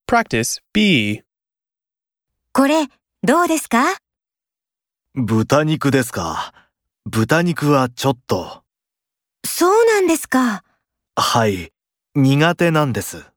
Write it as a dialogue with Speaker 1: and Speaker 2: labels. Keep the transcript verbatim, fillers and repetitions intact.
Speaker 1: Practice B.
Speaker 2: これ、どうですか？
Speaker 3: 豚肉ですか。豚肉はちょっと。
Speaker 2: そうなんですか。
Speaker 3: はい、苦手なんです。